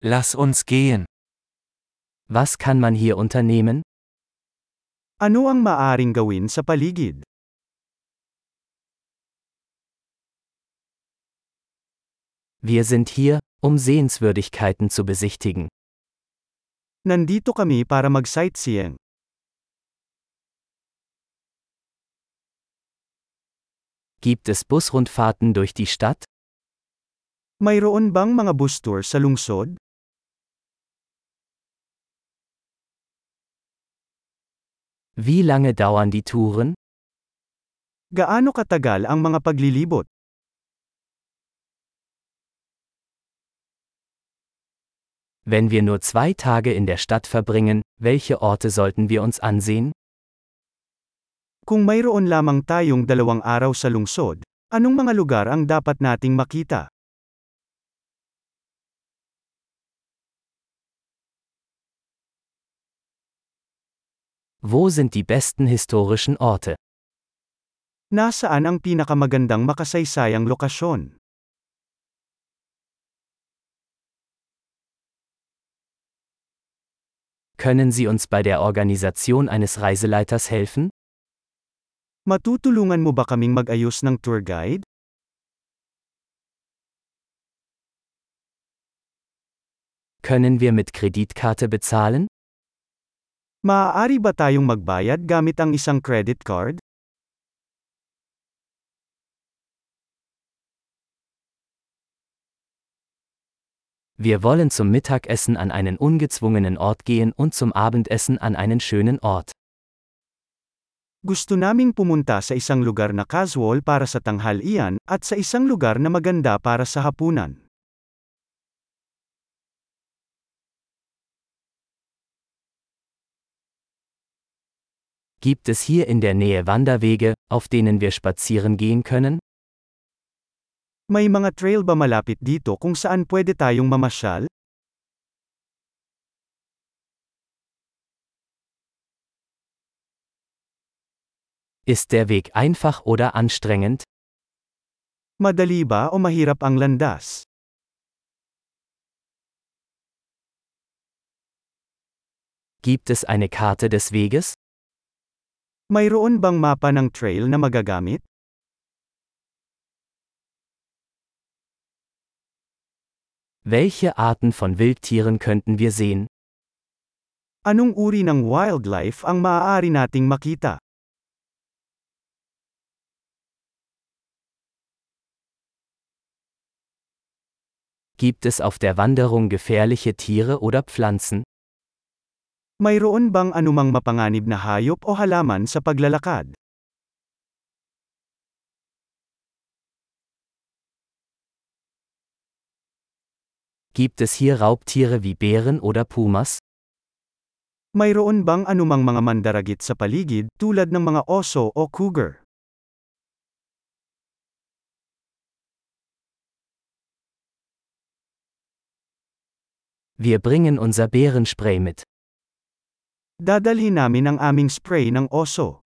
Lass uns gehen. Was kann man hier unternehmen? Ano ang maaring gawin sa paligid? Wir sind hier, um Sehenswürdigkeiten zu besichtigen. Nandito kami para mag-sightseeing. Gibt es Busrundfahrten durch die Stadt? Mayroon bang mga bus tour sa lungsod? Wie lange dauern die Touren? Gaano katagal ang mga paglilibot? Wenn wir nur 2 Tage in der Stadt verbringen, welche Orte sollten wir uns ansehen? Kung mayroon lamang tayong 2 araw sa lungsod, anong mga lugar ang dapat nating makita? Wo sind die besten historischen Orte? Nasaan ang pinakamagandang makasaysayang lokasyon? Können Sie uns bei der Organisation eines Reiseleiters helfen? Matutulungan mo ba kaming mag-ayos ng tour guide? Können wir mit Kreditkarte bezahlen? Maaari ba tayong magbayad gamit ang isang credit card? Wir wollen zum Mittagessen an einen ungezwungenen Ort gehen und zum Abendessen an einen schönen Ort. Gusto naming pumunta sa isang lugar na casual para sa tanghalian, at sa isang lugar na maganda para sa hapunan. Gibt es hier in der Nähe Wanderwege, auf denen wir spazieren gehen können? May mga trail ba malapit dito kung saan pwede tayong mamasyal? Ist der Weg einfach oder anstrengend? Madali ba o mahirap ang landas? Gibt es eine Karte des Weges? Mayroon bang mapa ng trail na magagamit? Welche Arten von Wildtieren könnten wir sehen? Anong uri ng wildlife ang maaari nating makita? Gibt es auf der Wanderung gefährliche Tiere oder Pflanzen? Mayroon bang anumang mapanganib na hayop o halaman sa paglalakad? Gibt es hier Raubtiere wie Bären oder Pumas? Mayroon bang anumang mga mandaragit sa paligid tulad ng mga oso o cougar? Wir bringen unser Bärenspray mit. Dadalhin namin ang aming spray ng oso.